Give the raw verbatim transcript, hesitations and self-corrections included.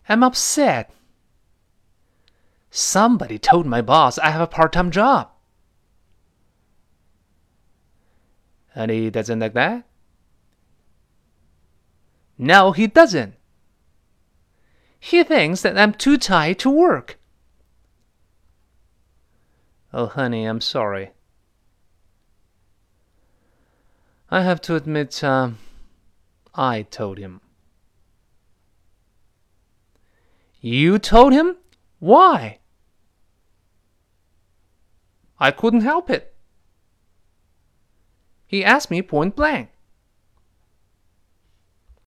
I'm upset. Somebody told my boss I have a part-time job. And he doesn't like that? No, he doesn't. He thinks that I'm too tired to work. Oh, honey, I'm sorry. I have to admit, uh, I told him. You told him? Why? I couldn't help it. He asked me point blank.